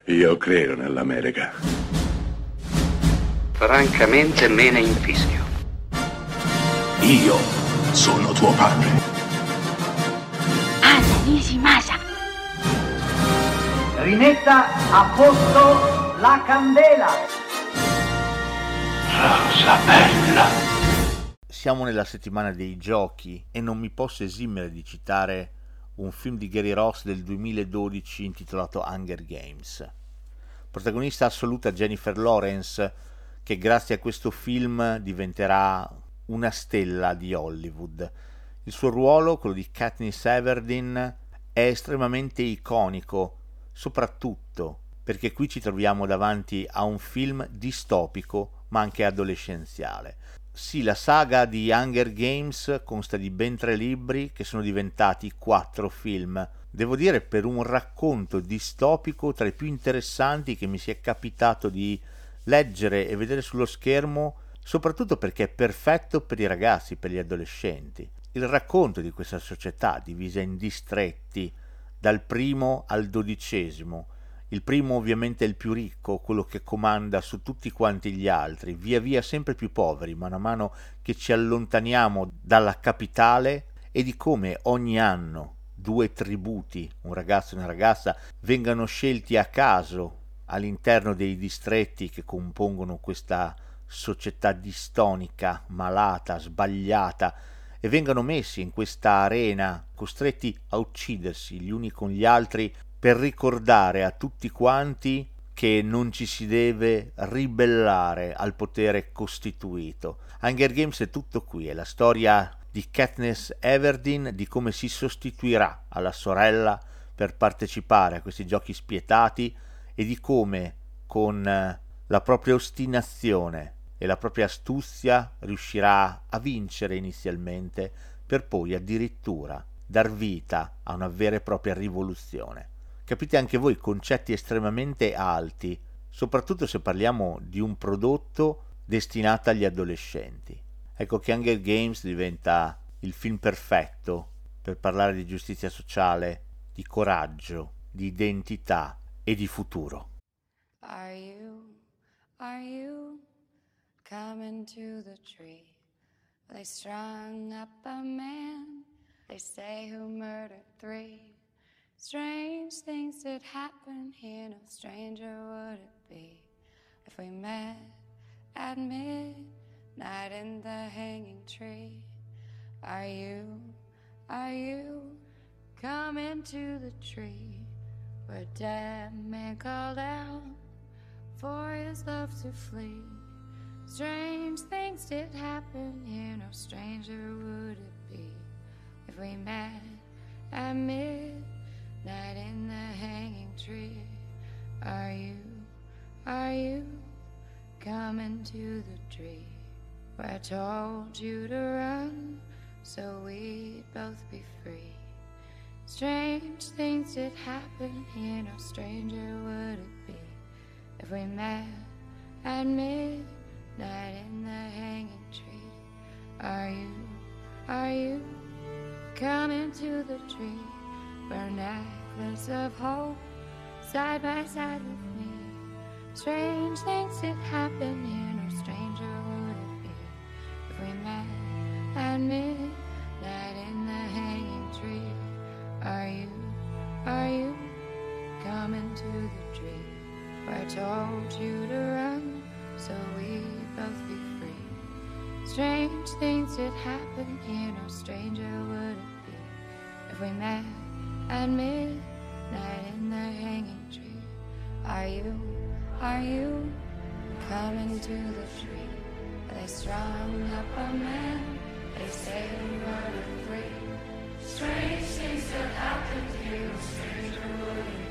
Io credo nell'America. Francamente me ne infischio. Io sono tuo padre. Anna Nishimasa. Rimetta a posto la candela. Rosa bella. Siamo nella settimana dei giochi e non mi posso esimere di citare un film di Gary Ross del 2012 intitolato Hunger Games. Protagonista assoluta Jennifer Lawrence, che grazie a questo film diventerà una stella di Hollywood. Il suo ruolo, quello di Katniss Everdeen, è estremamente iconico, soprattutto perché qui ci troviamo davanti a un film distopico ma anche adolescenziale. Sì, la saga di Hunger Games consta di ben 3 libri che sono diventati 4 film. Devo dire, per un racconto distopico tra i più interessanti che mi sia capitato di leggere e vedere sullo schermo, soprattutto perché è perfetto per i ragazzi, per gli adolescenti. Il racconto di questa società divisa in distretti, dal primo al 12°. Il primo ovviamente è il più ricco, quello che comanda su tutti quanti gli altri, via via sempre più poveri, mano a mano che ci allontaniamo dalla capitale, e di come ogni anno 2 tributi, un ragazzo e una ragazza, vengano scelti a caso all'interno dei distretti che compongono questa società distonica, malata, sbagliata, e vengano messi in questa arena, costretti a uccidersi gli uni con gli altri, per ricordare a tutti quanti che non ci si deve ribellare al potere costituito. Hunger Games è tutto qui, è la storia di Katniss Everdeen, di come si sostituirà alla sorella per partecipare a questi giochi spietati e di come con la propria ostinazione e la propria astuzia riuscirà a vincere inizialmente per poi addirittura dar vita a una vera e propria rivoluzione. Capite anche voi, concetti estremamente alti, soprattutto se parliamo di un prodotto destinato agli adolescenti. Ecco che Hunger Games diventa il film perfetto per parlare di giustizia sociale, di coraggio, di identità e di futuro. Are you coming to the tree? They strung up a man, they say, who murdered 3. Strange things did happen here, no stranger would it be if we met at midnight in the hanging tree. Are you coming to the tree where dead man called out for his love to flee? Strange things did happen here, no stranger would it be if we met at midnight in the hanging tree. Are you coming to the tree where I told you to run so we'd both be free? Strange things did happen here, no stranger would it be if we met at midnight in the hanging tree. Are you coming to the tree where a necklace of hope side by side with me? Strange things did happen here, no stranger would it be if we met at midnight in the hanging tree. Are you coming to the tree where I told you to run so we'd both be free? Strange things did happen here, no stranger would it be if we met at midnight in the hanging tree. Are you coming to the tree where they strung up a man, they say he murdered 3? Strange things that happened here, no stranger would it